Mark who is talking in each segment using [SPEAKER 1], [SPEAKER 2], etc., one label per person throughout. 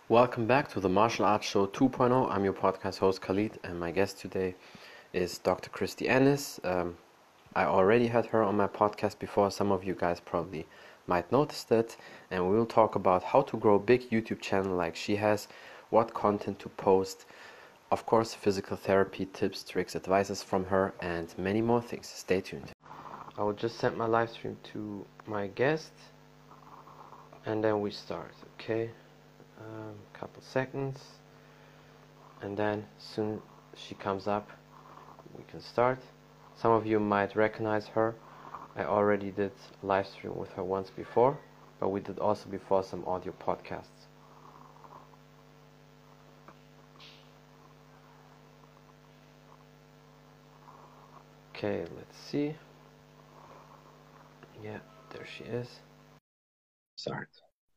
[SPEAKER 1] Welcome back to the Martial Arts Show 2.0. I'm your podcast host Khalid, and my guest today is Dr. Christy Ennis. I already had her on my podcast before. Some of you guys probably might notice that, and we will talk about how to grow a big YouTube channel like she has, what content to post, of course, physical therapy tips, tricks, advices from her, and many more things. Stay tuned. I will just send my live stream to my guest, and then we start, okay? Couple seconds, and then soon she comes up, we can start. Some of you might recognize her. I already did a live stream with her once before, but we did also before some audio podcasts. Okay, let's see. Yeah, there she is. Start.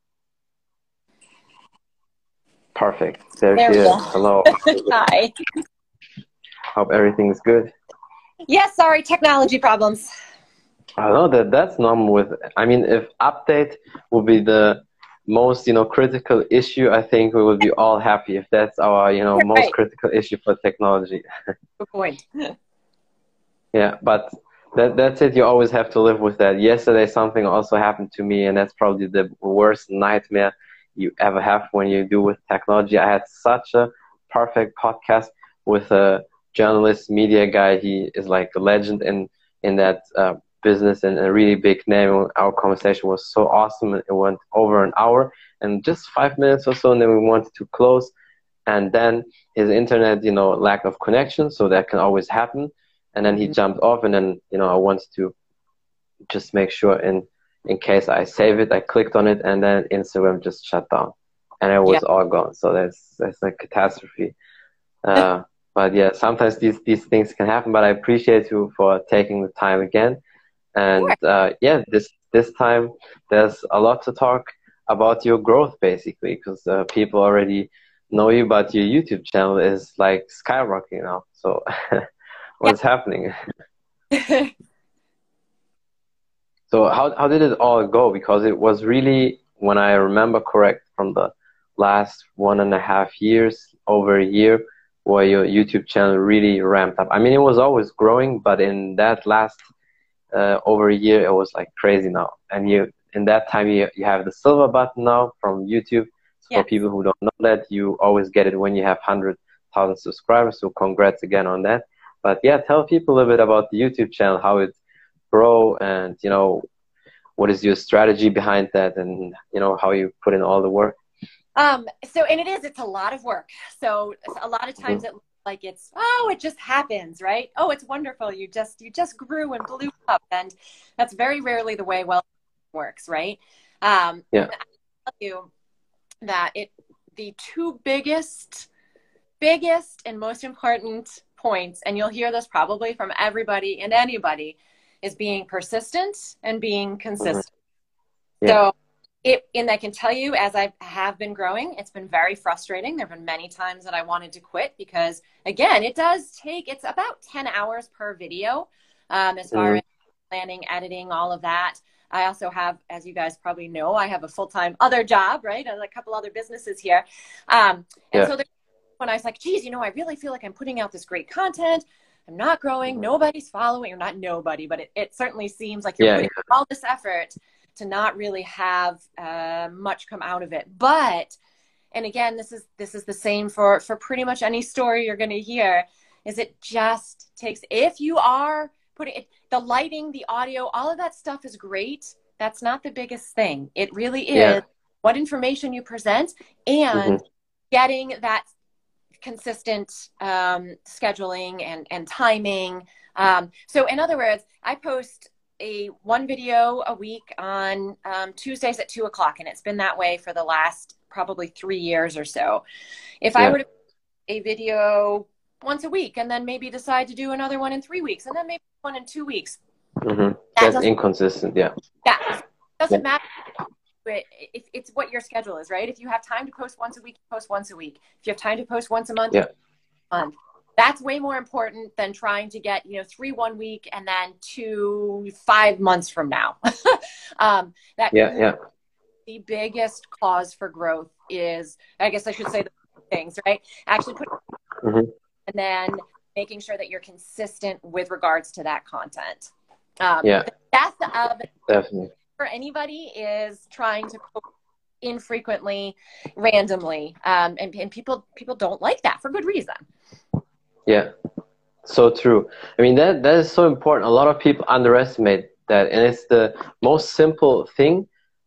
[SPEAKER 1] Perfect. There she is. Hello.
[SPEAKER 2] Hi.
[SPEAKER 1] Hope everything's good.
[SPEAKER 2] Yes, sorry, technology problems.
[SPEAKER 1] I know that's normal with, I mean, if update will be the most, critical issue, I think we will be all happy if that's our, most critical issue for technology.
[SPEAKER 2] Good point.
[SPEAKER 1] Yeah, but that's it. You always have to live with that. Yesterday, something also happened to me, and that's probably the worst nightmare you ever have when you do with technology. I had such a perfect podcast with a journalist, media guy. He is like a legend in that business and a really big name. Our conversation was so awesome. It went over an hour and just 5 minutes or so, and then we wanted to close. And then his internet, lack of connection, so that can always happen. And then he jumped off, and then, I wanted to just make sure in case I save it, I clicked on it, and then Instagram just shut down, and it was all gone. So that's a catastrophe. But yeah, sometimes these things can happen. But I appreciate you for taking the time again. And this time there's a lot to talk about your growth, basically, because people already know you, but your YouTube channel is like skyrocketing now. So what's happening? So how did it all go? Because it was really, when I remember correct, from the last 1.5 years, over a year, where your YouTube channel really ramped up. I mean, it was always growing, but in that last over a year, it was like crazy now. And in that time, you have the silver button now from YouTube. So for people who don't know that, you always get it when you have 100,000 subscribers. So congrats again on that. But yeah, tell people a little bit about the YouTube channel, how it grow, and what is your strategy behind that, and how you put in all the work.
[SPEAKER 2] And it's a lot of work. So a lot of times it looks like it just happens, right? Oh, it's wonderful. You just grew and blew up, and that's very rarely the way it works, right? I'll tell you that the two biggest and most important points, and you'll hear this probably from everybody and anybody, is being persistent and being consistent. So I can tell you, as I have been growing, it's been very frustrating. There have been many times that I wanted to quit because, again, it's about 10 hours per video as far as planning, editing, all of that. I also have, as you guys probably know, I have a full-time other job, right? And a couple other businesses here. So when I was like, geez, I really feel like I'm putting out this great content. I'm not growing. Nobody's following, or not nobody, but it certainly seems like you're putting all this effort to not really have much come out of it. But, and again, this is the same for pretty much any story you're going to hear, is it just takes, if you are putting it, the lighting, the audio, all of that stuff is great. That's not the biggest thing. It really is what information you present and getting that consistent scheduling and timing. So in other words, I post one video a week on Tuesdays at 2:00, and it's been that way for the last probably 3 years or so. If I were to post a video once a week and then maybe decide to do another one in 3 weeks and then maybe one in 2 weeks,
[SPEAKER 1] that's inconsistent.
[SPEAKER 2] Doesn't matter. If it's what your schedule is, right? If you have time to post once a week, post once a week. If you have time to post once a month, month. That's way more important than trying to get 3 1 week and then 2 5 months from now. The biggest cause for growth is, I guess I should say the things, right? Actually put,
[SPEAKER 1] Mm-hmm.
[SPEAKER 2] and then making sure that you're consistent with regards to that content.
[SPEAKER 1] Yeah,
[SPEAKER 2] The death of
[SPEAKER 1] definitely.
[SPEAKER 2] for anybody is trying to post infrequently, randomly, and people don't like that for good reason.
[SPEAKER 1] Yeah, so true. I mean, that is so important. A lot of people underestimate that, and it's the most simple thing,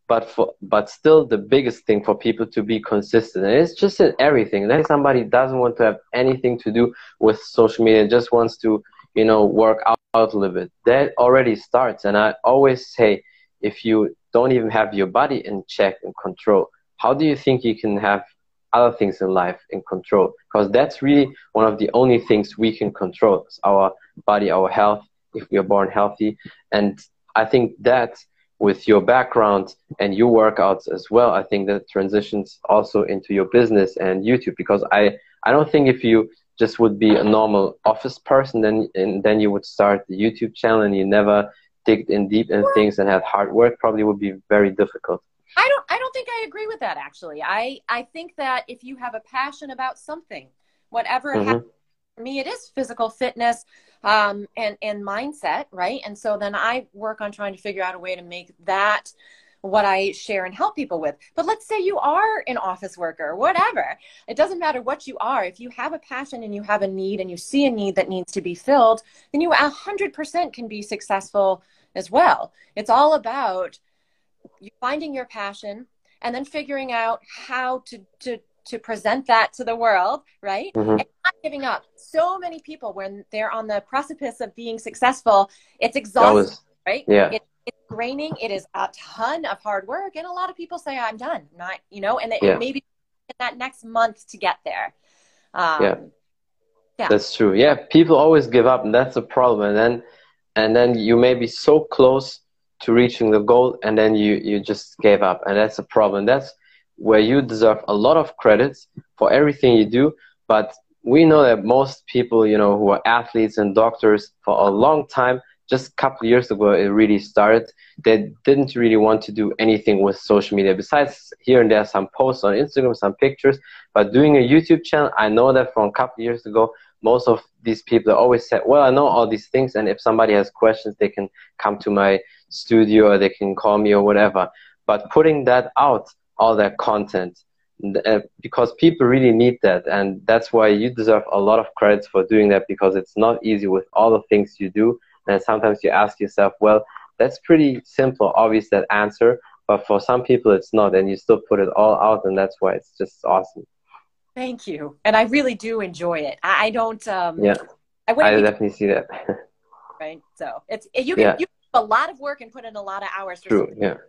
[SPEAKER 1] but still the biggest thing for people to be consistent. And it's just in everything. Then somebody doesn't want to have anything to do with social media, just wants to, work out a little bit. That already starts. And I always say, if you don't even have your body in check and control, how do you think you can have other things in life in control? Because that's really one of the only things we can control. It's our body, our health, if we are born healthy. And I think that with your background and your workouts as well, I think that transitions also into your business and YouTube, because I don't think if you just would be a normal office person, then you would start the YouTube channel and you never dig in deep in things and had hard work, probably would be very difficult.
[SPEAKER 2] I don't think I agree with that, actually. I think that if you have a passion about something, whatever it happens, for me, it is physical fitness, and mindset, right? And so then I work on trying to figure out a way to make that what I share and help people with. But let's say you are an office worker, whatever. It doesn't matter what you are. If you have a passion and you have a need and you see a need that needs to be filled, then you 100% can be successful as well. It's all about you finding your passion and then figuring out how to present that to the world, right? And not giving up. So many people, when they're on the precipice of being successful, it's exhausting, right?
[SPEAKER 1] Yeah.
[SPEAKER 2] It's draining. It is a ton of hard work. And a lot of people say, I'm done. Not, and
[SPEAKER 1] Yeah.
[SPEAKER 2] maybe in that next month to get there.
[SPEAKER 1] Yeah.
[SPEAKER 2] Yeah.
[SPEAKER 1] That's true. Yeah. People always give up, and that's a problem. And then you may be so close to reaching the goal, and then you just gave up, and that's a problem. That's where you deserve a lot of credits for everything you do. But we know that most people, who are athletes and doctors for a long time, just a couple of years ago, it really started. They didn't really want to do anything with social media besides here and there some posts on Instagram, some pictures. But doing a YouTube channel, I know that from a couple of years ago, most of these people always said, well, I know all these things, and if somebody has questions, they can come to my studio or they can call me or whatever. But putting that out, all that content, because people really need that, and that's why you deserve a lot of credits for doing that, because it's not easy with all the things you do. And sometimes you ask yourself, well, that's pretty simple, obvious, that answer, but for some people it's not, and you still put it all out, and that's why it's just awesome.
[SPEAKER 2] Thank you. And I really do enjoy it. I don't,
[SPEAKER 1] yeah, I definitely see that.
[SPEAKER 2] Right. So you can do a lot of work and put in a lot of hours.
[SPEAKER 1] True.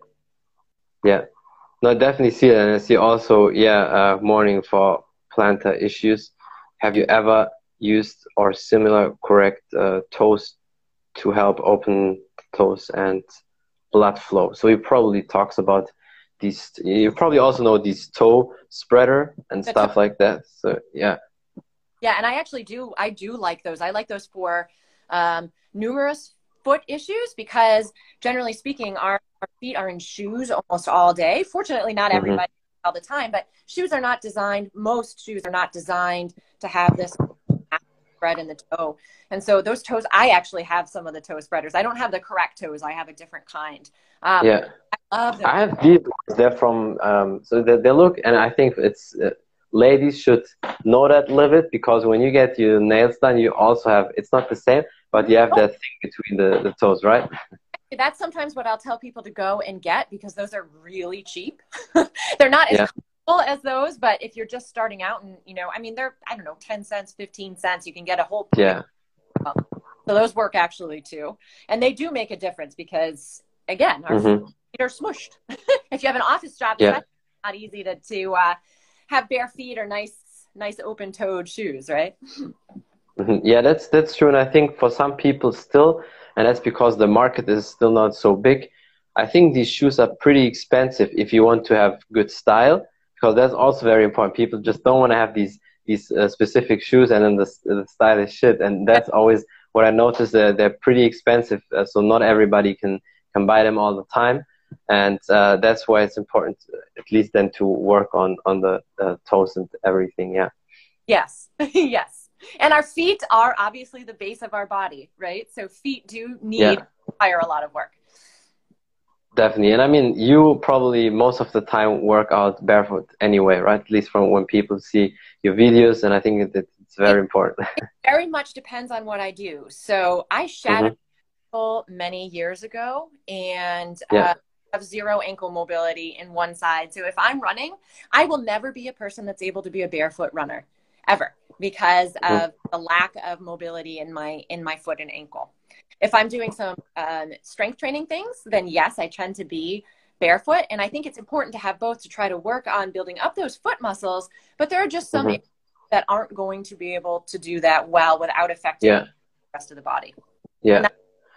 [SPEAKER 1] Yeah. No, I definitely see it. And I see also, mourning for plantar issues. Have you ever used or similar correct toes to help open toes and blood flow? So he probably talks about these, you probably also know these toe spreader and stuff like that. So yeah.
[SPEAKER 2] Yeah, and I do like those. I like those for numerous foot issues, because generally speaking, our feet are in shoes almost all day. Fortunately, not everybody all the time, but most shoes are not designed to have this spread in the toe. And so those toes, I actually have some of the toe spreaders. I don't have the correct toes. I have a different kind. I love them.
[SPEAKER 1] I have these ones. They're from, so they look, and I think it's, ladies should know that a little bit, because when you get your nails done, you also have, it's not the same, but you have that thing between the toes, right?
[SPEAKER 2] That's sometimes what I'll tell people to go and get, because those are really cheap. They're not as comfortable as those, but if you're just starting out and, I mean, they're, 10 cents, 15 cents, you can get a whole pair. So those work actually too. And they do make a difference, because again, our feet are smushed. If you have an office job, it's not easy to have bare feet or nice open-toed shoes, right?
[SPEAKER 1] Yeah, that's true. And I think for some people still, and that's because the market is still not so big, I think these shoes are pretty expensive if you want to have good style, because that's also very important. People just don't want to have these specific shoes, and then the style is shit. And that's always what I noticed. They're pretty expensive, so not everybody can buy them all the time. And that's why it's important, at least then, to work on the toes and everything. Yeah.
[SPEAKER 2] Yes. Yes. And our feet are obviously the base of our body, right? So feet do need require a lot of work.
[SPEAKER 1] Definitely. And I mean, you probably most of the time work out barefoot anyway, right? At least from when people see your videos. And I think it's very important.
[SPEAKER 2] It very much depends on what I do. So I shattered many years ago and have zero ankle mobility in one side. So if I'm running, I will never be a person that's able to be a barefoot runner ever because of the lack of mobility in my foot and ankle. If I'm doing some strength training things, then yes, I tend to be barefoot. And I think it's important to have both to try to work on building up those foot muscles. But there are just some that aren't going to be able to do that well without affecting the rest of the body.
[SPEAKER 1] Yeah.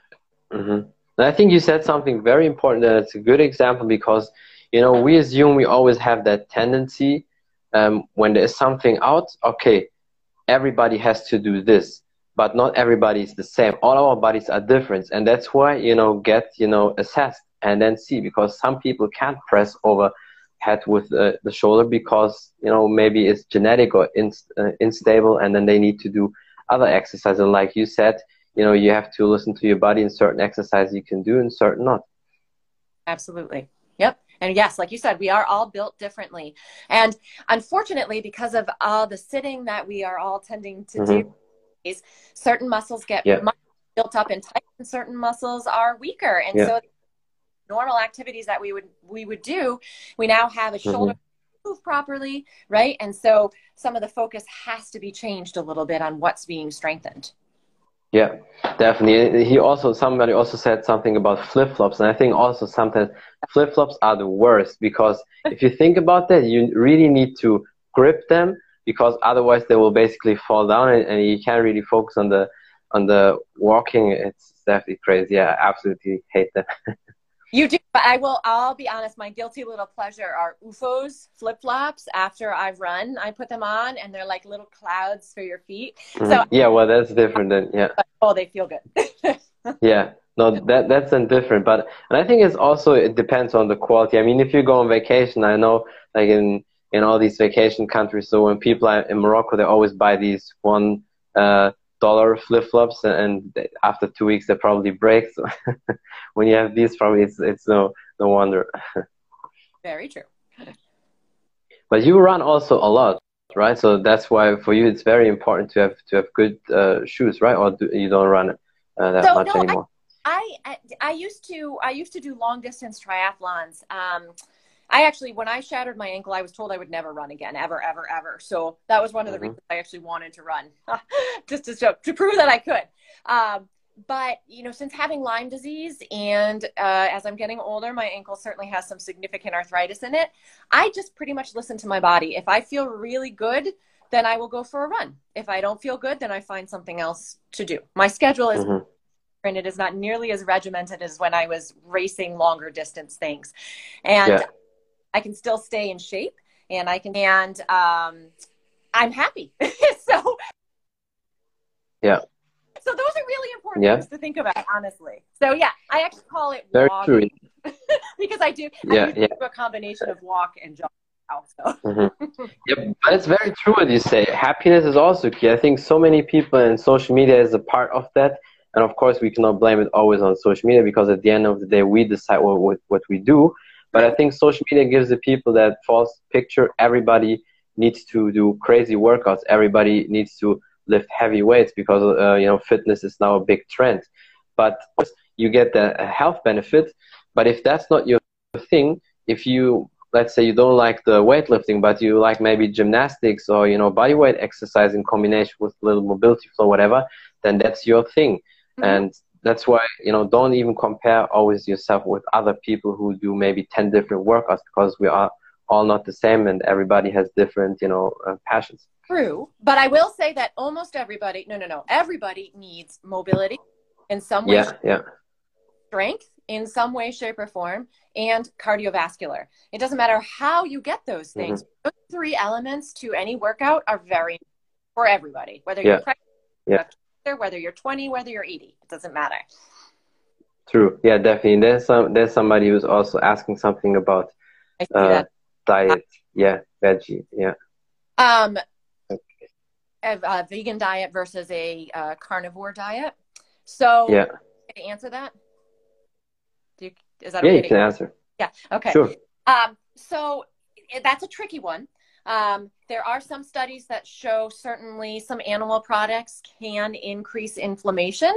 [SPEAKER 1] And I think you said something very important, and it's a good example because, you know, we assume we always have that tendency when there's something out, okay, everybody has to do this, but not everybody is the same. All our bodies are different, and that's why, you know, get, you know, assessed and then see, because some people can't press over head with the shoulder because, you know, maybe it's genetic or unstable, and then they need to do other exercises. And like you said, you know, you have to listen to your body, and certain exercises you can do and certain not.
[SPEAKER 2] Absolutely. Yep. And yes, like you said, we are all built differently. And unfortunately, because of all the sitting that we are all tending to do, certain muscles get much built up and tight, and certain muscles are weaker. And so normal activities that we would do, we now have a shoulder move properly, right? And so some of the focus has to be changed a little bit on what's being strengthened.
[SPEAKER 1] Yeah, definitely. Somebody also said something about flip-flops, and I think also sometimes flip-flops are the worst, because if you think about that, you really need to grip them, because otherwise they will basically fall down, and you can't really focus on the walking. It's definitely crazy. Yeah, I absolutely hate that.
[SPEAKER 2] You do, but I'll be honest, my guilty little pleasure are OOFOS, flip-flops. After I've run, I put them on, and they're like little clouds for your feet. So
[SPEAKER 1] yeah, well, that's different then,
[SPEAKER 2] oh, they feel good.
[SPEAKER 1] Yeah, no, that's then different. But, and I think it depends on the quality. I mean, if you go on vacation, I know, like in all these vacation countries, so when people are in Morocco, they always buy these $1 flip-flops, and after 2 weeks they probably break. So when you have these, probably it's no wonder.
[SPEAKER 2] Very true.
[SPEAKER 1] But you run also a lot, right? So that's why for you it's very important to have good shoes, right? Or you don't run that much anymore?
[SPEAKER 2] I used to do long distance triathlons. I actually, when I shattered my ankle, I was told I would never run again, ever, ever, ever. So that was one of the reasons I actually wanted to run, just to prove that I could. But, you know, since having Lyme disease and as I'm getting older, my ankle certainly has some significant arthritis in it. I just pretty much listen to my body. If I feel really good, then I will go for a run. If I don't feel good, then I find something else to do. My schedule is and it is not nearly as regimented as when I was racing longer distance things. And I can still stay in shape, and I'm happy. So so those are really important things to think about, honestly. So yeah, I actually call it walking because I do a combination of walk and jog. So.
[SPEAKER 1] Yep, but it's very true what you say. Happiness is also key. I think so many people, and social media is a part of that. And of course, we cannot blame it always on social media, because at the end of the day, we decide what we do. But I think social media gives the people that false picture. Everybody needs to do crazy workouts. Everybody needs to lift heavy weights, because you know, fitness is now a big trend. But you get the health benefit. But if that's not your thing, if you, let's say, you don't like the weightlifting, but you like maybe gymnastics or, you know, body weight exercise in combination with little mobility flow, whatever, then that's your thing. And that's why, you know, don't even compare always yourself with other people who do maybe 10 different workouts, because we are all not the same, and everybody has different, you know, passions.
[SPEAKER 2] True. But I will say that almost everybody, everybody needs mobility in some way, strength in some way, shape, or form, and cardiovascular. It doesn't matter how you get those things. Those three elements to any workout are very important for everybody, whether you're pregnant, whether you're 20, whether you're 80, it doesn't matter.
[SPEAKER 1] True. Yeah, definitely. There's somebody who's also asking something about
[SPEAKER 2] I see that.
[SPEAKER 1] diet. Yeah, veggie. Yeah.
[SPEAKER 2] Um, a vegan diet versus a carnivore diet. So,
[SPEAKER 1] Yeah.
[SPEAKER 2] to answer that, is that
[SPEAKER 1] Yeah,
[SPEAKER 2] okay
[SPEAKER 1] you
[SPEAKER 2] to?
[SPEAKER 1] can answer.
[SPEAKER 2] Yeah. Okay.
[SPEAKER 1] Sure.
[SPEAKER 2] So that's a tricky one. There are some studies that show certainly some animal products can increase inflammation.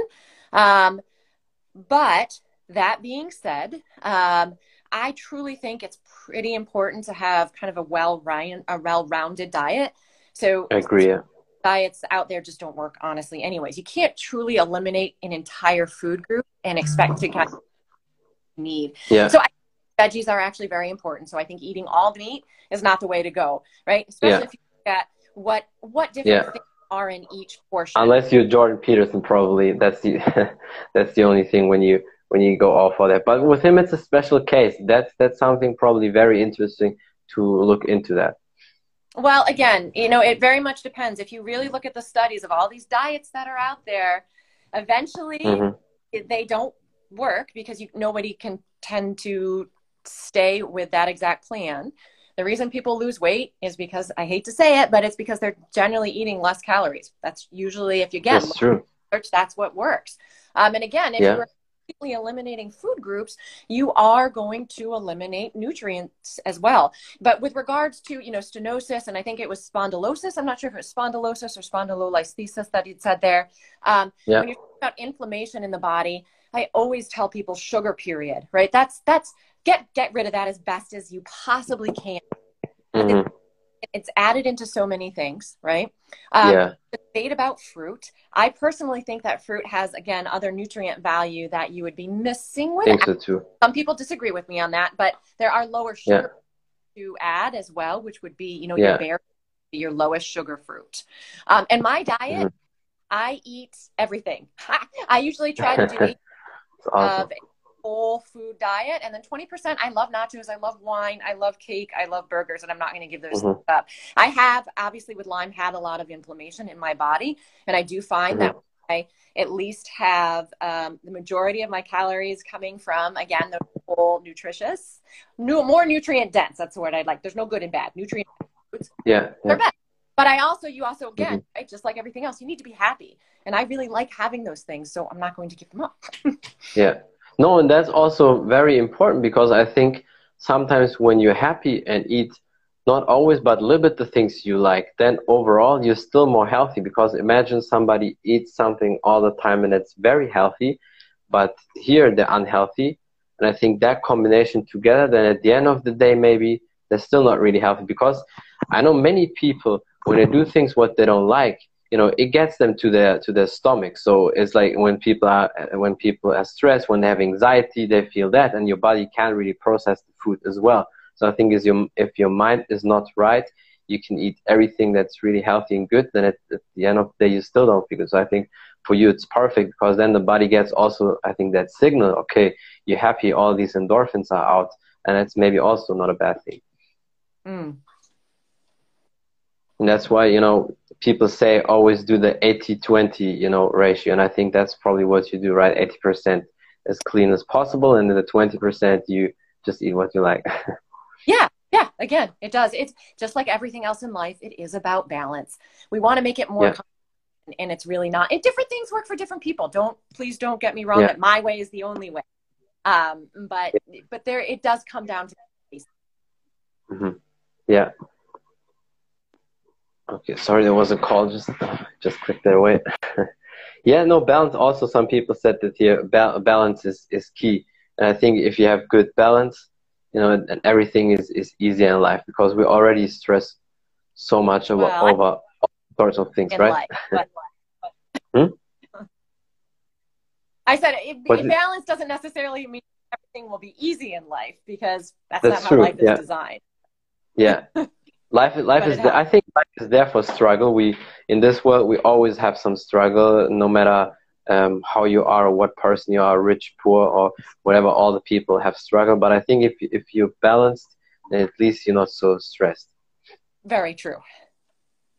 [SPEAKER 2] But that being said, I truly think it's pretty important to have kind of a well-rounded diet. So
[SPEAKER 1] I agree. Yeah.
[SPEAKER 2] diets out there just don't work, honestly. Anyways, you can't truly eliminate an entire food group and expect to kind of need.
[SPEAKER 1] Yeah.
[SPEAKER 2] So veggies are actually very important. So I think eating all meat is not the way to go, right? Especially
[SPEAKER 1] Yeah.
[SPEAKER 2] if you look at what different
[SPEAKER 1] Yeah.
[SPEAKER 2] things are in each portion.
[SPEAKER 1] Unless you're Jordan Peterson, probably that's the that's the only thing when you go off for that. But with him, it's a special case. That's something probably very interesting to look into that.
[SPEAKER 2] Well, again, it very much depends. If you really look at the studies of all these diets that are out there, eventually they don't work because nobody can tend to stay with that exact plan. The reason people lose weight is because, I hate to say it, but it's because they're generally eating less calories. That's usually, if you get
[SPEAKER 1] That's true.
[SPEAKER 2] research, that's what works. And again, if you're completely eliminating food groups, you are going to eliminate nutrients as well. But with regards to, stenosis, and I think it was spondylosis, I'm not sure if it was spondylosis or spondylolisthesis that you'd said there. When you're talking about inflammation in the body, I always tell people sugar, period, right? That's get rid of that as best as you possibly can. It's added into so many things, right? The debate about fruit. I personally think that fruit has, again, other nutrient value that you would be missing with it.
[SPEAKER 1] I think so too.
[SPEAKER 2] Some people disagree with me on that, but there are lower sugar to add as well, which would be, your berry, your lowest sugar fruit. And my diet, I eat everything. I usually try to do
[SPEAKER 1] awesome.
[SPEAKER 2] a whole food diet, and then 20% I love nachos, I love wine, I love cake, I love burgers, and I'm not going to give those up. I have, obviously with Lyme, had a lot of inflammation in my body, and I do find that I at least have the majority of my calories coming from, again, the whole nutritious, more nutrient dense. That's the word I'd like. There's no good and bad. Nutrient foods, they're best. But you also, again, right, just like everything else, you need to be happy. And I really like having those things, so I'm not going to give them up.
[SPEAKER 1] No, and that's also very important, because I think sometimes when you're happy and eat, not always, but a little bit the things you like, then overall you're still more healthy. Because imagine somebody eats something all the time and it's very healthy, but here they're unhealthy. And I think that combination together, then at the end of the day, maybe they're still not really healthy. Because I know many people, when they do things what they don't like, it gets them to their stomach. So it's like when people are stressed, when they have anxiety, they feel that, and your body can't really process the food as well. So I think if your mind is not right, you can eat everything that's really healthy and good, then at the end of the day, you still don't feel good. So I think for you, it's perfect, because then the body gets also, I think, that signal, okay, you're happy, all these endorphins are out, and that's maybe also not a bad thing. And that's why, people say always do the 80-20, ratio. And I think that's probably what you do, right? 80% as clean as possible. And then the 20% you just eat what you like.
[SPEAKER 2] Yeah. Again, it does. It's just like everything else in life. It is about balance. We want to make it more and it's really not. Different things work for different people. Please don't get me wrong that my way is the only way. But it does come down to
[SPEAKER 1] Yeah. Okay, sorry, there was a call. Just click that away. Balance. Also, some people said that here balance is key. And I think if you have good balance, and everything is easier in life, because we already stress so much over all sorts of things, right?
[SPEAKER 2] I said balance doesn't necessarily mean everything will be easy in life, because that's not
[SPEAKER 1] true.
[SPEAKER 2] How life is designed.
[SPEAKER 1] Life is there. I think life is there for struggle. In this world, we always have some struggle, no matter how you are, or what person you are, rich, poor, or whatever. All the people have struggle. But I think if you're balanced, then at least you're not so stressed.
[SPEAKER 2] Very true.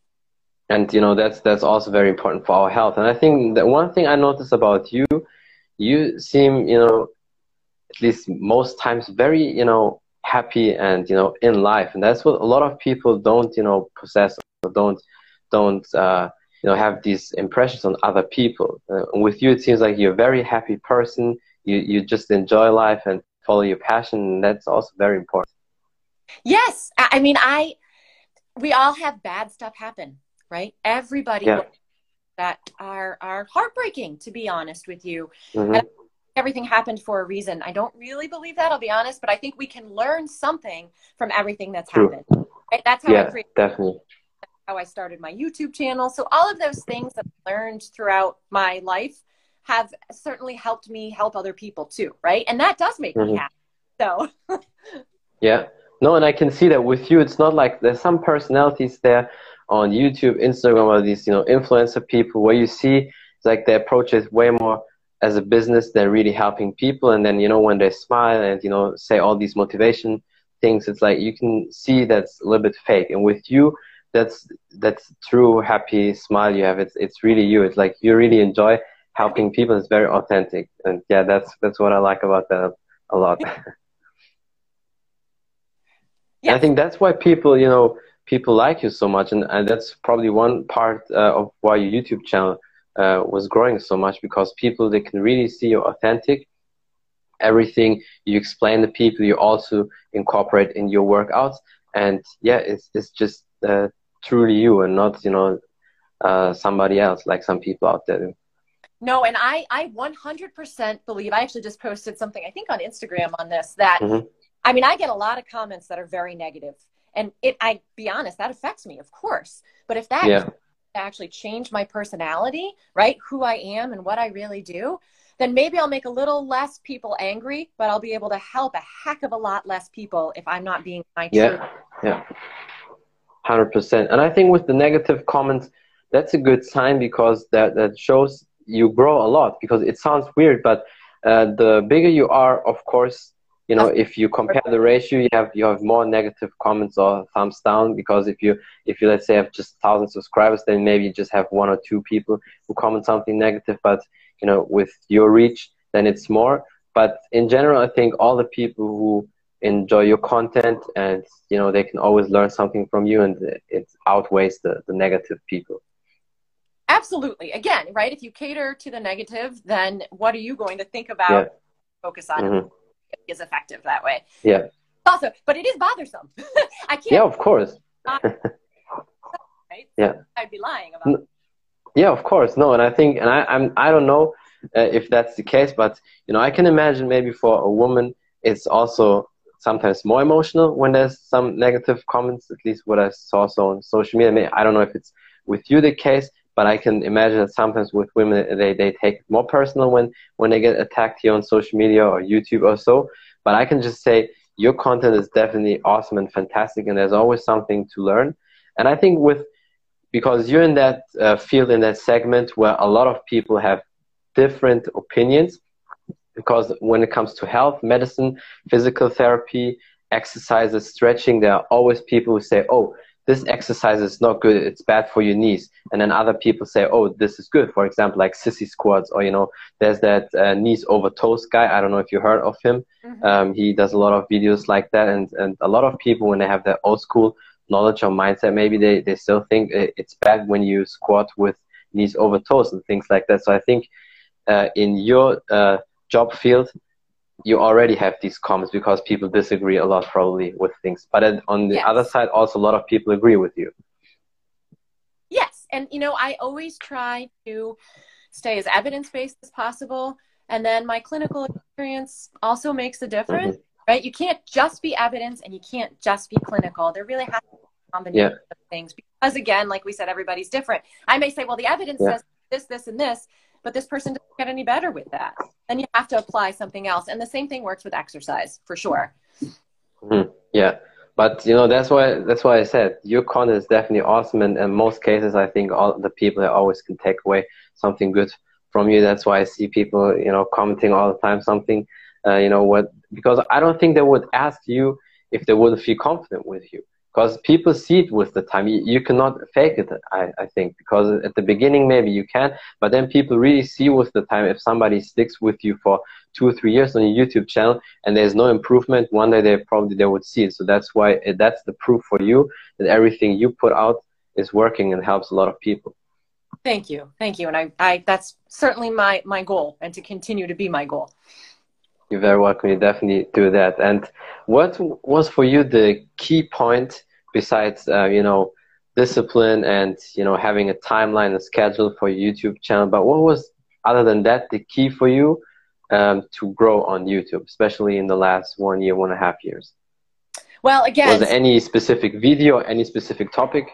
[SPEAKER 1] And that's also very important for our health. And I think that one thing I noticed about you, you seem, you know, at least most times very, you know, happy and, you know, in life. And that's what a lot of people don't, you know, possess, or don't you know, have these impressions on other people. With you, it seems like you're a very happy person. You just enjoy life and follow your passion, and that's also very important.
[SPEAKER 2] Yes. I mean, we all have bad stuff happen, right? Everybody
[SPEAKER 1] Yeah.
[SPEAKER 2] that are heartbreaking, to be honest with you.
[SPEAKER 1] Mm-hmm.
[SPEAKER 2] And everything happened for a reason. I don't really believe that, I'll be honest, but I think we can learn something from everything that's happened. Right? That's how I create.
[SPEAKER 1] Definitely.
[SPEAKER 2] How I started my YouTube channel. So all of those things that I learned throughout my life have certainly helped me help other people too, right? And that does make me happy. So
[SPEAKER 1] yeah. No, and I can see that with you. It's not like there's some personalities there on YouTube, Instagram, or these, you know, influencer people where you see it's like they approach it way more as a business than really helping people. And then, you know, when they smile and, you know, say all these motivation things, it's like you can see that's a little bit fake. And with you, that's true happy smile you have. It's really you. It's like you really enjoy helping people. It's very authentic, and yeah, that's what I like about that a lot. And I think that's why people, you know, people like you so much, and that's probably one part of why your YouTube channel was growing so much, because people, they can really see you're authentic. Everything you explain to people, you also incorporate in your workouts, and yeah, it's just truly you, and not, you know, somebody else like some people out there do.
[SPEAKER 2] No, and I 100% believe, I actually just posted something, I think on Instagram on this, that, I mean, I get a lot of comments that are very negative, and I be honest, that affects me, of course. But if that actually changed my personality, right, who I am and what I really do, then maybe I'll make a little less people angry, but I'll be able to help a heck of a lot less people if I'm not being my true.
[SPEAKER 1] Yeah. 100%. And I think with the negative comments, that's a good sign, because that shows you grow a lot. Because it sounds weird, but the bigger you are, of course, you know, if you compare the ratio, you have more negative comments or thumbs down. Because if you let's say have just 1,000 subscribers, then maybe you just have 1 or 2 people who comment something negative. But you know, with your reach, then it's more. But in general, I think all the people who enjoy your content, and you know, they can always learn something from you, and it outweighs the negative people.
[SPEAKER 2] Absolutely. Again, right, if you cater to the negative, then what are you going to think about? Focus on it is effective that way. Also, but it is bothersome. I can't.
[SPEAKER 1] Yeah, of course.
[SPEAKER 2] Right? So I'd be lying about it.
[SPEAKER 1] Yeah, of course. No, and I think, and I don't know if that's the case, but you know, I can imagine maybe for a woman, it's also sometimes more emotional when there's some negative comments, at least what I saw so on social media. I don't know if it's with you the case, but I can imagine that sometimes with women, they take it more personal when they get attacked here on social media or YouTube or so. But I can just say your content is definitely awesome and fantastic, and there's always something to learn. And I think because you're in that field, in that segment where a lot of people have different opinions, because when it comes to health, medicine, physical therapy, exercises, stretching, there are always people who say, oh, this exercise is not good, it's bad for your knees. And then other people say, oh, this is good. For example, like sissy squats, or, you know, there's that knees over toes guy. I don't know if you heard of him. He does a lot of videos like that. And a lot of people, when they have that old school knowledge or mindset, maybe they still think it's bad when you squat with knees over toes and things like that. So I think in your job field, you already have these comments because people disagree a lot probably with things. But on the other side, also a lot of people agree with you.
[SPEAKER 2] Yes. And, you know, I always try to stay as evidence-based as possible. And then my clinical experience also makes a difference, right? You can't just be evidence and you can't just be clinical. There really has to be a combination of things. Because again, like we said, everybody's different. I may say, well, the evidence says this, this, and this, but this person doesn't get any better with that. Then you have to apply something else. And the same thing works with exercise, for sure.
[SPEAKER 1] Yeah. But, you know, that's why I said your content is definitely awesome. And in most cases, I think all the people always can take away something good from you. That's why I see people, you know, commenting all the time something, you know, because I don't think they would ask you if they wouldn't feel confident with you. because people see it with the time. You cannot fake it, I think, because at the beginning maybe you can, but then people really see with the time. If somebody sticks with you for 2 or 3 years on your YouTube channel and there's no improvement, one day they would see it. So that's why that's the proof for you that everything you put out is working and helps a lot of people.
[SPEAKER 2] Thank you. And I that's certainly my goal, and to continue to be my goal.
[SPEAKER 1] You're very welcome. You definitely do that. And what was for you the key point besides, you know, discipline and, you know, having a timeline, a schedule for your YouTube channel? But what was, other than that, the key for you to grow on YouTube, especially in the last 1 year, 1.5 years?
[SPEAKER 2] Well, again,
[SPEAKER 1] was there any specific video, any specific topic?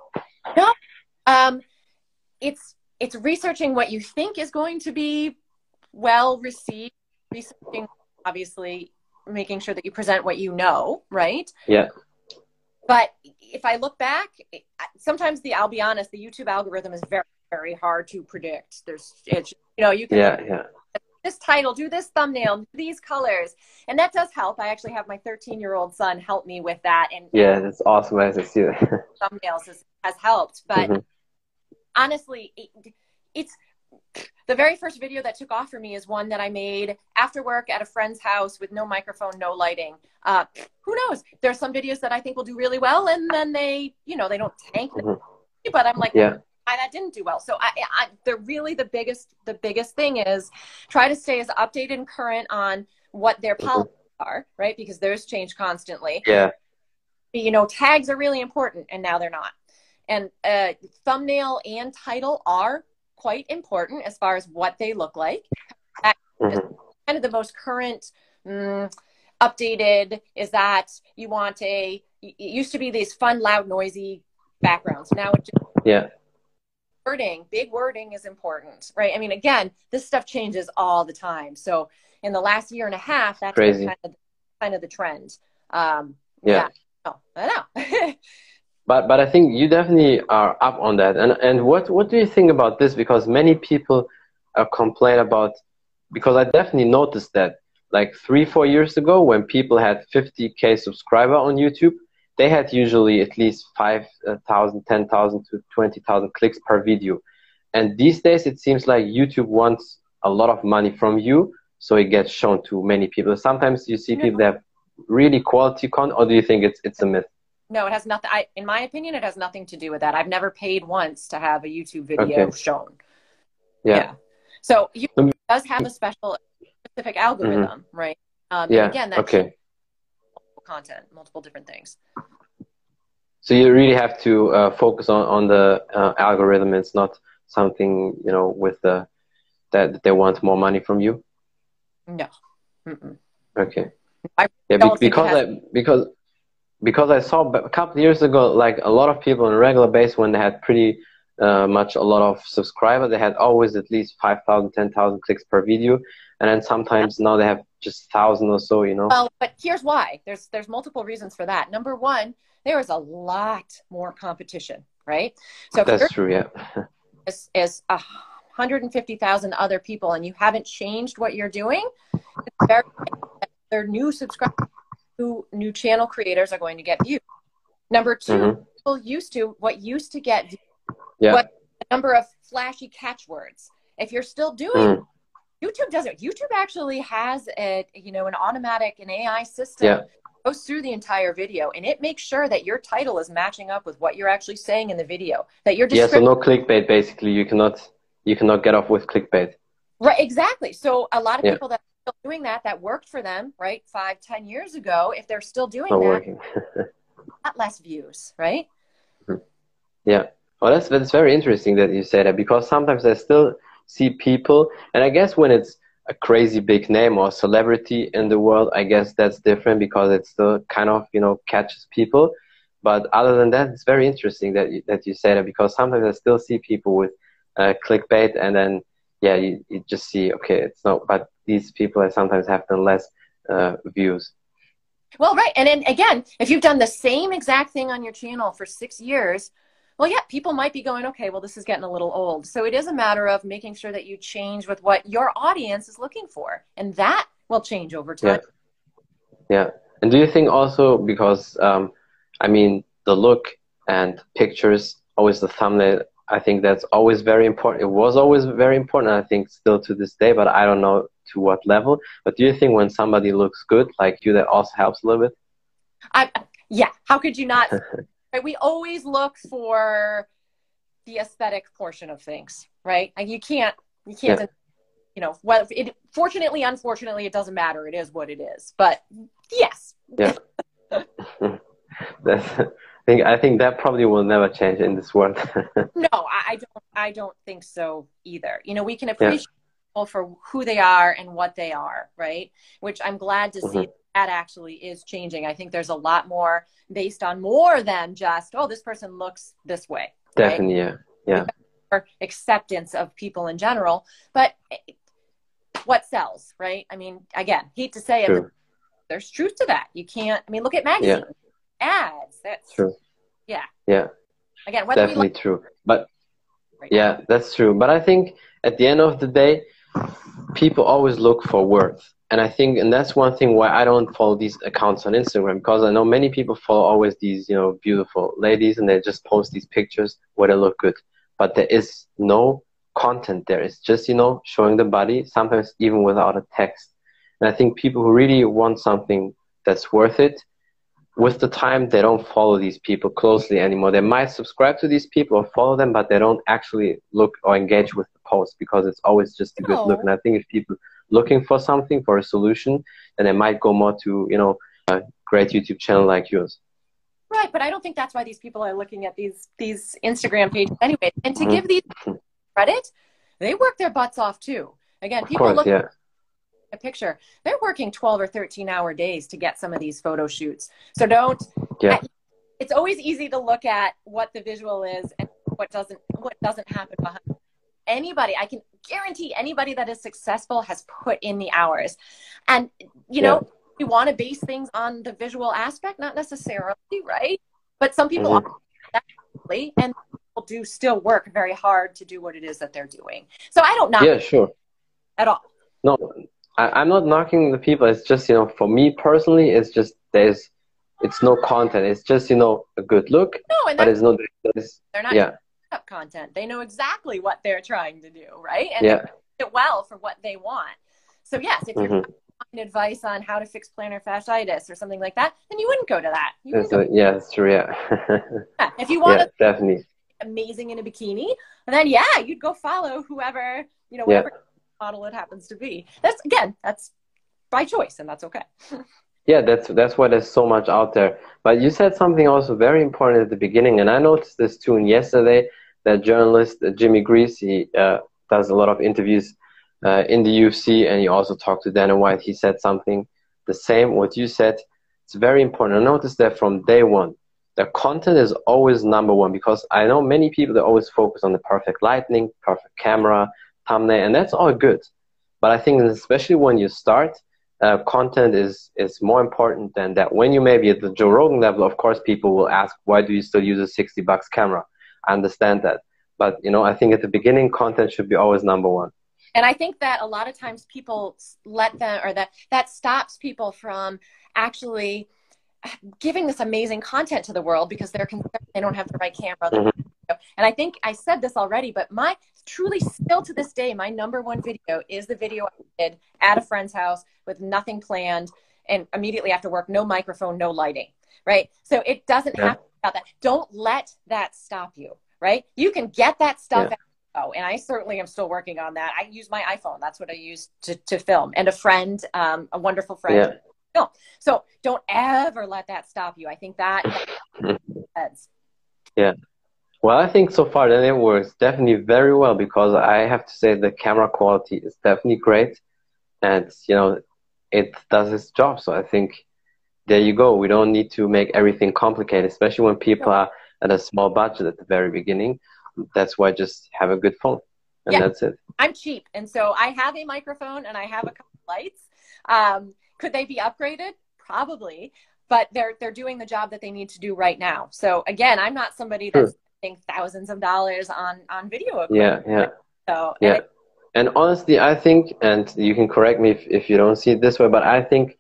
[SPEAKER 2] No. It's researching what you think is going to be well received. Researching, obviously, making sure that you present what you know, right?
[SPEAKER 1] Yeah.
[SPEAKER 2] But if I look back, sometimes I'll be honest, the YouTube algorithm is very, very hard to predict. It's, you know, you can this title, do this thumbnail, do these colors, and that does help. I actually have my 13-year-old son help me with that, and
[SPEAKER 1] yeah, that's awesome. I see that.
[SPEAKER 2] Thumbnails has helped, but honestly, it's. The very first video that took off for me is one that I made after work at a friend's house with no microphone, no lighting. Who knows? There's some videos that I think will do really well, and then they, you know, they don't tank. But I'm like, why that didn't do well. So the biggest thing is try to stay as updated and current on what their policies are, right? Because those change constantly.
[SPEAKER 1] Yeah.
[SPEAKER 2] You know, tags are really important, and now they're not. And thumbnail and title are quite important as far as what they look like. Kind of the most current, updated is that you want it used to be these fun, loud, noisy backgrounds. Now it's just big wording is important, right? I mean, again, this stuff changes all the time. So in the last 1.5 years, that's
[SPEAKER 1] crazy.
[SPEAKER 2] Kind of the trend.
[SPEAKER 1] I
[SPEAKER 2] know.
[SPEAKER 1] But I think you definitely are up on that. And what do you think about this? Because many people complain about, because I definitely noticed that like 3-4 years ago when people had 50K subscriber on YouTube, they had usually at least 5,000, 10,000 to 20,000 clicks per video. And these days it seems like YouTube wants a lot of money from you, so it gets shown to many people. Sometimes you see people that have really quality content, or do you think it's a myth?
[SPEAKER 2] No, it has nothing. In my opinion, it has nothing to do with that. I've never paid once to have a YouTube video shown. Yeah. So YouTube does have a specific algorithm, right? And again, that's content, multiple different things.
[SPEAKER 1] So you really have to focus on the algorithm. It's not something, you know, with that they want more money from you.
[SPEAKER 2] No.
[SPEAKER 1] Okay. Because I saw a couple of years ago, like a lot of people on a regular basis, when they had pretty much a lot of subscribers, they had always at least 5,000, 10,000 clicks per video. And then sometimes now they have just 1,000 or so, you know.
[SPEAKER 2] Well, but here's why. There's multiple reasons for that. Number one, there is a lot more competition, right? So
[SPEAKER 1] that's true, yeah.
[SPEAKER 2] As 150,000 other people, and you haven't changed what you're doing, it's very their new subscribers. New channel creators are going to get views. Number two, people used to get views, what the number of flashy catchwords. If you're still doing YouTube doesn't. YouTube actually has an automatic, an AI system goes through the entire video, and it makes sure that your title is matching up with what you're actually saying in the video. That your
[SPEAKER 1] so no clickbait. Basically, you cannot get off with clickbait.
[SPEAKER 2] Right. Exactly. So a lot of people that are still doing that worked for them, right, 5-10 years ago. If they're still doing that, not less views, right?
[SPEAKER 1] Yeah. Well, that's very interesting that you say that, because sometimes I still see people, and I guess when it's a crazy big name or celebrity in the world, I guess that's different because it still kind of, catches people. But other than that, it's very interesting that you say that, because sometimes I still see people with clickbait, and then, you just see, okay, it's not, but these people sometimes have done less views.
[SPEAKER 2] Well, right. And then again, if you've done the same exact thing on your channel for 6 years, well, yeah, people might be going, okay, well, this is getting a little old. So it is a matter of making sure that you change with what your audience is looking for. And that will change over time.
[SPEAKER 1] Yeah. And do you think also, because, the look and pictures, always the thumbnail. I think that's always very important. It was always very important, I think still to this day, but I don't know to what level. But do you think when somebody looks good like you, that also helps a little bit?
[SPEAKER 2] Yeah, how could you not? Right? We always look for the aesthetic portion of things, right? Like you can't,
[SPEAKER 1] Yeah.
[SPEAKER 2] you know, well, fortunately, unfortunately, it doesn't matter. It is what it is. But yes.
[SPEAKER 1] Yeah. I think that probably will never change in this world.
[SPEAKER 2] No, I don't think so either. You know, we can
[SPEAKER 1] Yeah.
[SPEAKER 2] appreciate people for who they are and what they are, right? Which I'm glad to see that actually is changing. I think there's a lot more based on more than just, oh, this person looks this way. Right?
[SPEAKER 1] Definitely, yeah. Yeah.
[SPEAKER 2] More acceptance of people in general, but what sells, right? I mean, again, hate to say it, but there's truth to that. You can't, I mean, look at magazines, ads. That's
[SPEAKER 1] true.
[SPEAKER 2] Yeah.
[SPEAKER 1] Yeah.
[SPEAKER 2] Again, whether
[SPEAKER 1] definitely true. But
[SPEAKER 2] right
[SPEAKER 1] yeah, that's true. But I think at the end of the day, people always look for worth. And I think, and that's one thing why I don't follow these accounts on Instagram, because I know many people follow always these, you know, beautiful ladies and they just post these pictures where they look good. But there is no content there. It's just, you know, showing the body, sometimes even without a text. And I think people who really want something that's worth it, with the time, they don't follow these people closely anymore. They might subscribe to these people or follow them, but they don't actually look or engage with the post because it's always just a good look. And I think if people looking for something, for a solution, then they might go more to, you know, a great YouTube channel like yours.
[SPEAKER 2] Right, but I don't think that's why these people are looking at these Instagram pages anyway. And to give these credit, they work their butts off too. Again, people look at a picture, they're working 12 or 13-hour days to get some of these photo shoots. So don't, it's always easy to look at what the visual is and what doesn't happen behind. Anybody, I can guarantee anybody that is successful has put in the hours. And, you know, we want to base things on the visual aspect, not necessarily, right? But some people are definitely, and people do still work very hard to do what it is that they're doing. So I don't knock at all.
[SPEAKER 1] No, I'm not knocking the people. It's just, you know, for me personally, it's just it's no content. It's just, you know, a good look,
[SPEAKER 2] no, and
[SPEAKER 1] but it's not.
[SPEAKER 2] They're not up content. They know exactly what they're trying to do, right? And they do it well for what they want. So yes, if you're giving advice on how to fix plantar fasciitis or something like that, then you wouldn't go to that.
[SPEAKER 1] That's true. Yeah.
[SPEAKER 2] If you want to
[SPEAKER 1] definitely
[SPEAKER 2] amazing in a bikini, then you'd go follow whoever, you know, whatever model it happens to be. That's by choice, and that's okay.
[SPEAKER 1] Yeah, that's why there's so much out there. But you said something also very important at the beginning, and I noticed this too. And yesterday, that journalist Jimmy Grease, he does a lot of interviews in the UFC, and he also talked to Dana White. He said something the same what you said. It's very important. I noticed that from day one, the content is always number one, because I know many people that always focus on the perfect lighting, perfect camera, thumbnail, and that's all good. But I think especially when you start, content is more important than that. When you may be at the Joe Rogan level, of course, people will ask, why do you still use a $60 camera? I understand that. But, you know, I think at the beginning, content should be always number one.
[SPEAKER 2] And I think that a lot of times people let them, or that stops people from actually giving this amazing content to the world because they're concerned they don't have the right camera. And I think I said this already, but truly still to this day, my number one video is the video I did at a friend's house with nothing planned and immediately after work, no microphone, no lighting, right? So it doesn't have to be about that. Don't let that stop you, right? You can get that stuff out. And I certainly am still working on that. I use my iPhone. That's what I use to film. And a friend, a wonderful friend. So don't ever let that stop you. I think that heads.
[SPEAKER 1] Yeah. Well, I think so far that it works definitely very well, because I have to say the camera quality is definitely great, and you know, it does its job. So I think there you go. We don't need to make everything complicated, especially when people are at a small budget at the very beginning. That's why just have a good phone, and that's it.
[SPEAKER 2] I'm cheap, and so I have a microphone and I have a couple lights. Could they be upgraded? Probably, but they're doing the job that they need to do right now. So again, I'm not somebody that's spending thousands of dollars on video equipment. So
[SPEAKER 1] and honestly, I think, and you can correct me if you don't see it this way, but I think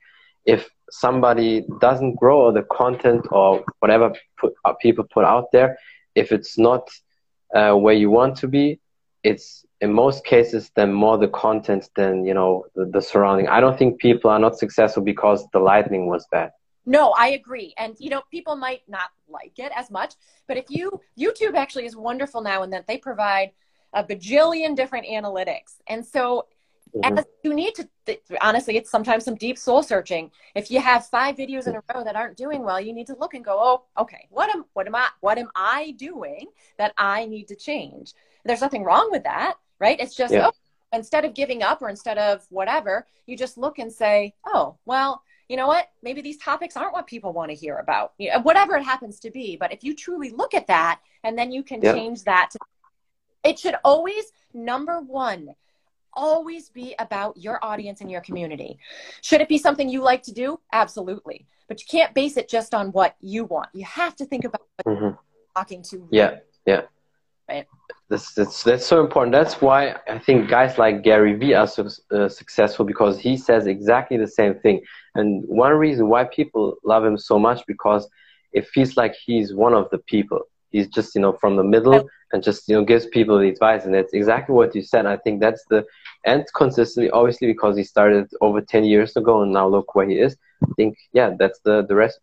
[SPEAKER 1] if somebody doesn't grow or the content or whatever people put out there, if it's not where you want to be, it's in most cases then more the content than, you know, the surrounding. I don't think people are not successful because the lighting was bad.
[SPEAKER 2] No, I agree. And, you know, people might not like it as much, but YouTube actually is wonderful now in that they provide a bajillion different analytics. And so as you need to, honestly, it's sometimes some deep soul searching. If you have 5 videos in a row that aren't doing well, you need to look and go, oh, okay, what am I doing that I need to change? There's nothing wrong with that, right? It's just, instead of giving up or instead of whatever, you just look and say, oh, well, you know what? Maybe these topics aren't what people want to hear about, you know, whatever it happens to be. But if you truly look at that and then you can change that, it should always, number one, always be about your audience and your community. Should it be something you like to do? Absolutely. But you can't base it just on what you want. You have to think about what you're talking to. Right.
[SPEAKER 1] That's so important. That's why I think guys like Gary Vee are so successful, because he says exactly the same thing. And one reason why people love him so much, because it feels like he's one of the people. He's just, you know, from the middle and just, you know, gives people the advice. And it's exactly what you said. I think that's and consistently, obviously, because he started over 10 years ago and now look where he is. I think, yeah, that's the recipe.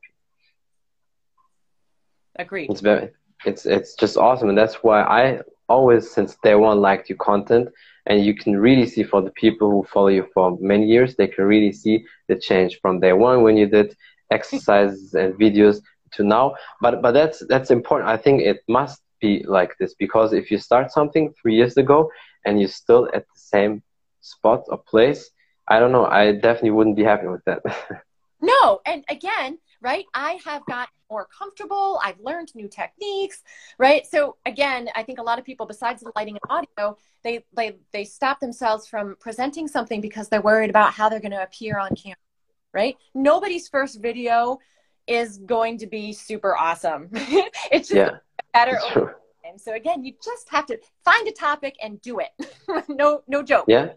[SPEAKER 2] Agreed.
[SPEAKER 1] It's just awesome. And that's why I always, since day one, liked your content. And you can really see, for the people who follow you for many years, they can really see the change from day one when you did exercises and videos to now. But that's important. I think it must be like this, because if you start something 3 years ago and you're still at the same spot or place, I don't know, I definitely wouldn't be happy with that.
[SPEAKER 2] No, and again, right, I have gotten more comfortable. I've learned new techniques, right? So again, I think a lot of people, besides the lighting and audio, they stop themselves from presenting something because they're worried about how they're going to appear on camera, right? Nobody's first video is going to be super awesome. It's just better over time. So again, you just have to find a topic and do it. No joke.
[SPEAKER 1] Yeah,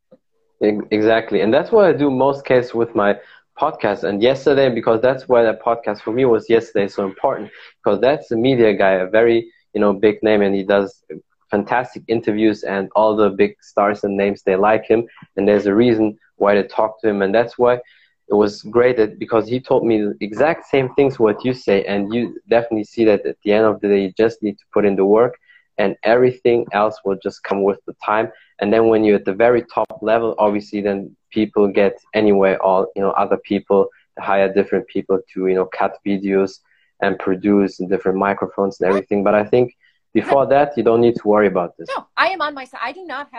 [SPEAKER 1] exactly. And that's what I do most cases with my podcast. And yesterday, because that's why the podcast for me was yesterday so important, because that's a media guy, a very, you know, big name, and he does fantastic interviews, and all the big stars and names, they like him, and there's a reason why they talk to him. And that's why it was great, because he told me the exact same things what you say, and you definitely see that at the end of the day, you just need to put in the work, and everything else will just come with the time. And then when you're at the very top level, obviously, then people get anyway, all, you know, other people hire different people to, you know, cut videos and produce different microphones and everything. But I think before that, you don't need to worry about this.
[SPEAKER 2] No, I am on my side.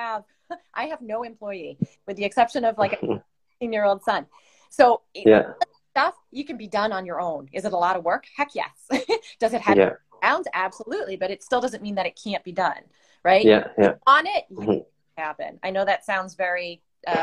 [SPEAKER 2] I have no employee, with the exception of like a 16-year-old son. So stuff you can be done on your own. Is it a lot of work? Heck yes. Does it have sounds? Absolutely. But it still doesn't mean that it can't be done, right? On it, you can happen. I know that sounds very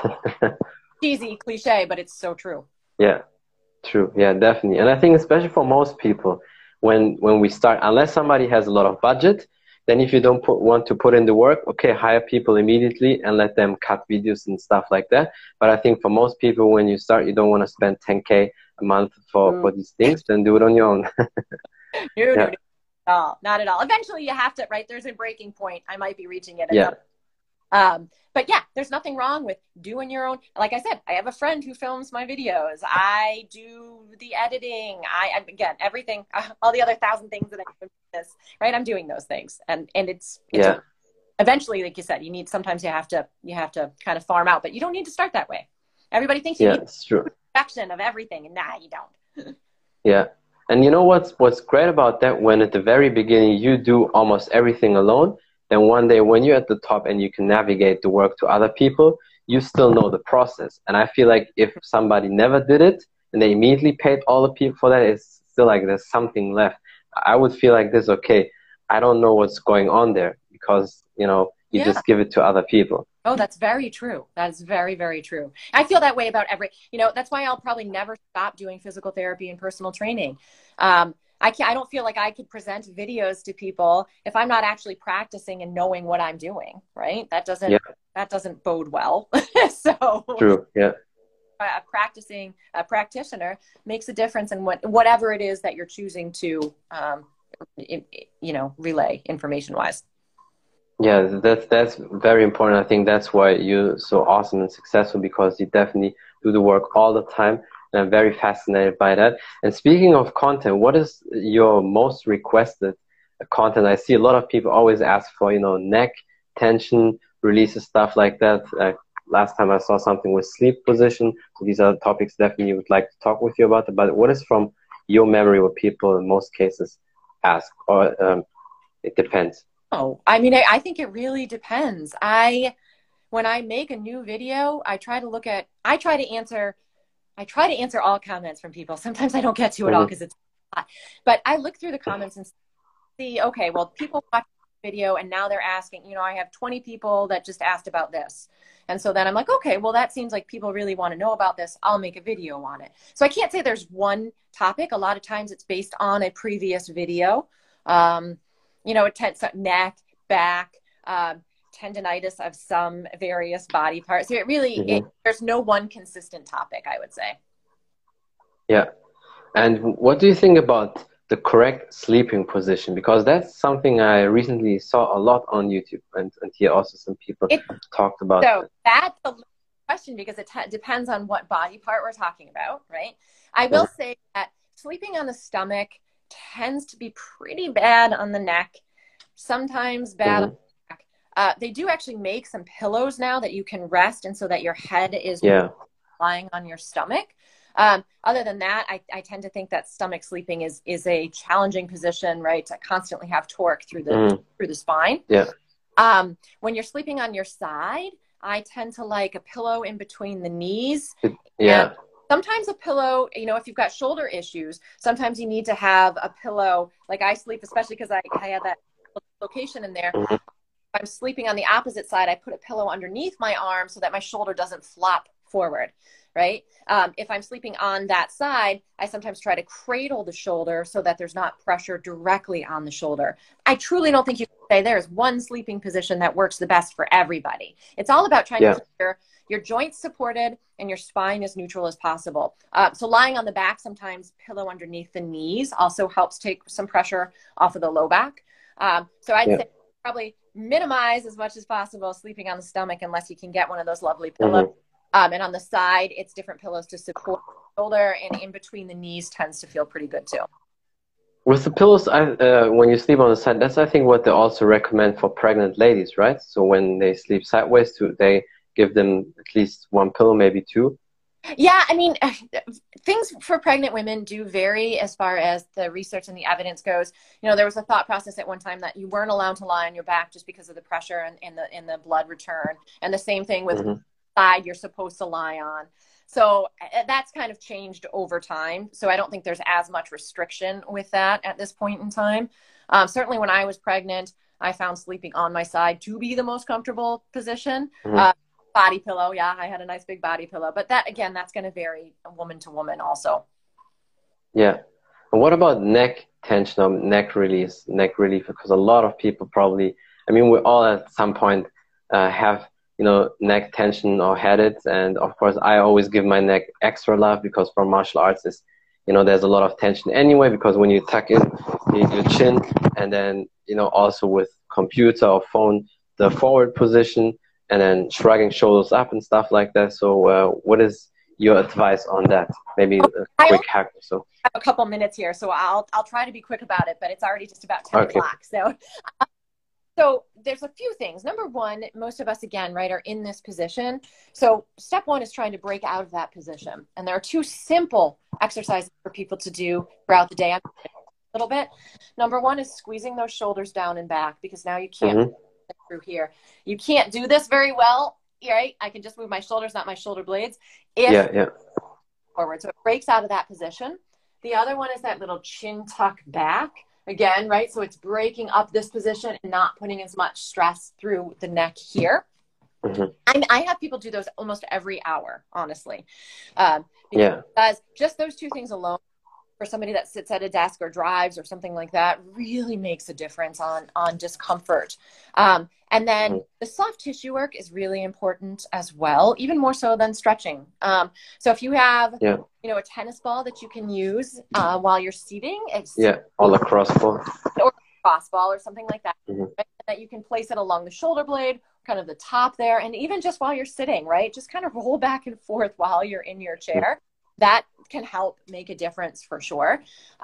[SPEAKER 2] cheesy, cliche, but it's so true.
[SPEAKER 1] Yeah, true. Yeah, definitely. And I think especially for most people, when we start, unless somebody has a lot of budget, then if you don't want to put in the work, okay, hire people immediately and let them cut videos and stuff like that. But I think for most people, when you start, you don't want to spend 10K a month for these things, then do it on your own.
[SPEAKER 2] Not at all. Eventually you have to, right? There's a breaking point. I might be reaching it. But yeah, there's nothing wrong with doing your own. Like I said, I have a friend who films my videos. I do the editing. Again, everything, all the other 1,000 things that I do this, right? I'm doing those things. And it's eventually, like you said, sometimes you have to kind of farm out, but you don't need to start that way. Everybody thinks you need production of everything, and you don't.
[SPEAKER 1] And you know what's great about that? When at the very beginning you do almost everything alone, then one day when you're at the top and you can navigate the work to other people, you still know the process. And I feel like if somebody never did it and they immediately paid all the people for that, it's still like there's something left. I would feel like this, okay, I don't know what's going on there, because, you know, you just give it to other people.
[SPEAKER 2] Oh, that's very true. That's very, very true. I feel that way about that's why I'll probably never stop doing physical therapy and personal training. I don't feel like I could present videos to people if I'm not actually practicing and knowing what I'm doing, right? That doesn't bode well. So
[SPEAKER 1] true. Yeah.
[SPEAKER 2] a practicing practitioner makes a difference in whatever it is that you're choosing to, relay information wise.
[SPEAKER 1] Yeah, that's very important. I think that's why you're so awesome and successful, because you definitely do the work all the time. And I'm very fascinated by that. And speaking of content, what is your most requested content? I see a lot of people always ask for, neck tension releases, stuff like that. Last time I saw something with sleep position. So these are topics definitely would like to talk with you about. But what is from your memory what people in most cases ask, or it depends?
[SPEAKER 2] Oh, I mean, I think it really depends. When I make a new video, I try to answer all comments from people. Sometimes I don't get to it all because it's a lot. But I look through the comments and see, okay, well, people watch the video and now they're asking, I have 20 people that just asked about this. And so then I'm like, okay, well, that seems like people really want to know about this. I'll make a video on it. So I can't say there's one topic. A lot of times it's based on a previous video. It tends to neck, back, tendinitis of some various body parts. So it really, there's no one consistent topic, I would say.
[SPEAKER 1] Yeah. And what do you think about the correct sleeping position? Because that's something I recently saw a lot on YouTube, and here also some people talked about.
[SPEAKER 2] So that's a question, because it depends on what body part we're talking about, right? I will say that sleeping on the stomach tends to be pretty bad on the neck, sometimes bad on the back. They do actually make some pillows now that you can rest, and so that your head is lying on your stomach. Other than that, I tend to think that stomach sleeping is a challenging position, right? To constantly have torque through the spine.
[SPEAKER 1] Yeah.
[SPEAKER 2] When you're sleeping on your side, I tend to like a pillow in between the knees.
[SPEAKER 1] Yeah.
[SPEAKER 2] Sometimes a pillow, if you've got shoulder issues, sometimes you need to have a pillow. Like I sleep, especially because I had that location in there. If I'm sleeping on the opposite side, I put a pillow underneath my arm so that my shoulder doesn't flop forward, right? If I'm sleeping on that side, I sometimes try to cradle the shoulder so that there's not pressure directly on the shoulder. I truly don't think you can say there's one sleeping position that works the best for everybody. It's all about trying to keep your joints supported and your spine as neutral as possible. So lying on the back, sometimes pillow underneath the knees also helps take some pressure off of the low back. So I'd say probably minimize as much as possible sleeping on the stomach unless you can get one of those lovely pillows. And on the side, it's different pillows to support the shoulder, and in between the knees tends to feel pretty good too.
[SPEAKER 1] With the pillows, when you sleep on the side, that's I think what they also recommend for pregnant ladies, right? So when they sleep sideways, they give them at least one pillow, maybe two.
[SPEAKER 2] Yeah, I mean, things for pregnant women do vary as far as the research and the evidence goes. There was a thought process at one time that you weren't allowed to lie on your back just because of the pressure and the blood return. And the same thing with side you're supposed to lie on. So that's kind of changed over time. So I don't think there's as much restriction with that at this point in time. Certainly when I was pregnant, I found sleeping on my side to be the most comfortable position. Body pillow. Yeah, I had a nice big body pillow. But that, again, that's going to vary woman to woman also. Yeah.
[SPEAKER 1] And what about neck tension or neck relief? Because a lot of people probably, we all at some point have, neck tension or had it. And of course, I always give my neck extra love because for martial arts, there's a lot of tension anyway, because when you tuck in your chin and then, also with computer or phone, the forward position, and then shrugging shoulders up and stuff like that. So what is your advice on that? Maybe a quick hack or so.
[SPEAKER 2] I have a couple minutes here, so I'll try to be quick about it, but it's already just about 10 o'clock. So there's a few things. Number one, most of us, again, right, are in this position. So step one is trying to break out of that position. And there are two simple exercises for people to do throughout the day. I'm a little bit. Number one is squeezing those shoulders down and back, because now you can't through here. You can't do this very well, right? I can just move my shoulders, not my shoulder blades. Forward. So it breaks out of that position. The other one is that little chin tuck back. Again, right? So it's breaking up this position and not putting as much stress through the neck here. I have people do those almost every hour, honestly. Because just those two things alone for somebody that sits at a desk or drives or something like that really makes a difference on discomfort. And then the soft tissue work is really important as well, even more so than stretching. So if you have, you know, a tennis ball that you can use while you're seating, it's
[SPEAKER 1] or lacrosse ball,
[SPEAKER 2] or cross ball or something like that, right? That you can place it along the shoulder blade, kind of the top there, and even just while you're sitting, right? Just kind of roll back and forth while you're in your chair. That can help make a difference for sure.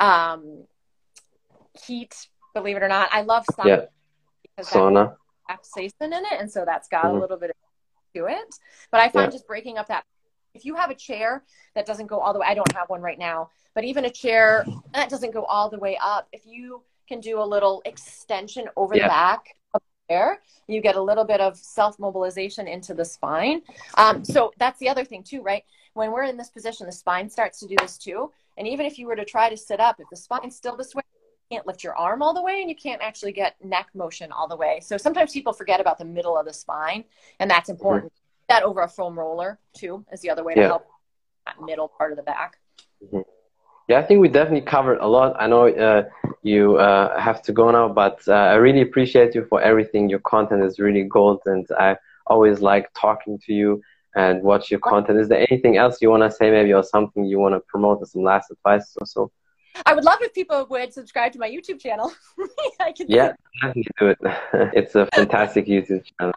[SPEAKER 2] Heat, believe it or not, I love sauna because
[SPEAKER 1] sauna
[SPEAKER 2] capsaicin in it, and so that's got a little bit to it. But I find just breaking up that, if you have a chair that doesn't go all the way, I don't have one right now, but even a chair that doesn't go all the way up, if you can do a little extension over the back of the chair, you get a little bit of self-mobilization into the spine. So that's the other thing too, right? When we're in this position, the spine starts to do this too. And even if you were to try to sit up, if the spine's still this way, you can't lift your arm all the way and you can't actually get neck motion all the way. So sometimes people forget about the middle of the spine, and that's important. That over a foam roller too is the other way to help that middle part of the back.
[SPEAKER 1] Yeah, I think we definitely covered a lot. I know you have to go now, but I really appreciate you for everything. Your content is really gold, and I always like talking to you and watch your content. Is there anything else you want to say, maybe, or something you want to promote, or some last advice or so?
[SPEAKER 2] I would love if people would subscribe to my YouTube channel.
[SPEAKER 1] Definitely do it. It's a fantastic YouTube channel.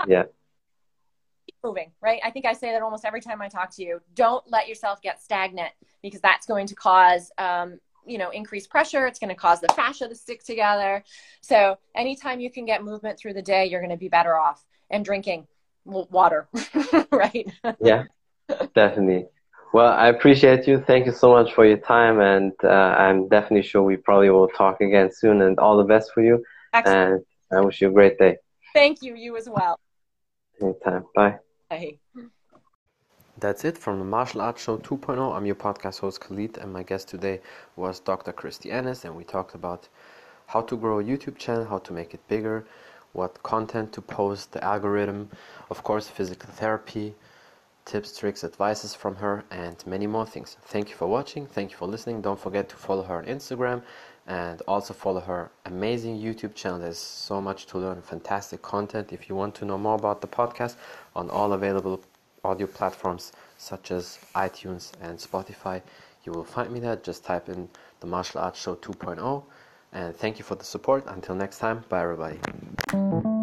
[SPEAKER 2] Keep moving, right? I think I say that almost every time I talk to you. Don't let yourself get stagnant, because that's going to cause you know, increased pressure. It's going to cause the fascia to stick together. So anytime you can get movement through the day, you're going to be better off. And drinking water, right?
[SPEAKER 1] Yeah, definitely. Well, I appreciate you. Thank you so much for your time, and I'm definitely sure we probably will talk again soon, and all the best for you. Excellent. And I wish you a great day.
[SPEAKER 2] Thank you. You as well.
[SPEAKER 1] Anytime. Bye.
[SPEAKER 2] Bye.
[SPEAKER 1] That's it from the Martial Arts Show 2.0. I'm your podcast host, Khalid, and my guest today was Dr. Christy Ennis, and we talked about how to grow a YouTube channel, how to make it bigger, what content to post, the algorithm, of course, physical therapy, tips, tricks, advices from her, and many more things. Thank you for watching. Thank you for listening. Don't forget to follow her on Instagram, and also follow her amazing YouTube channel. There's so much to learn, fantastic content. If you want to know more about the podcast, on all available audio platforms such as iTunes and Spotify, you will find me there. Just type in the Martial Arts Show 2.0. And thank you for the support. Until next time, bye everybody.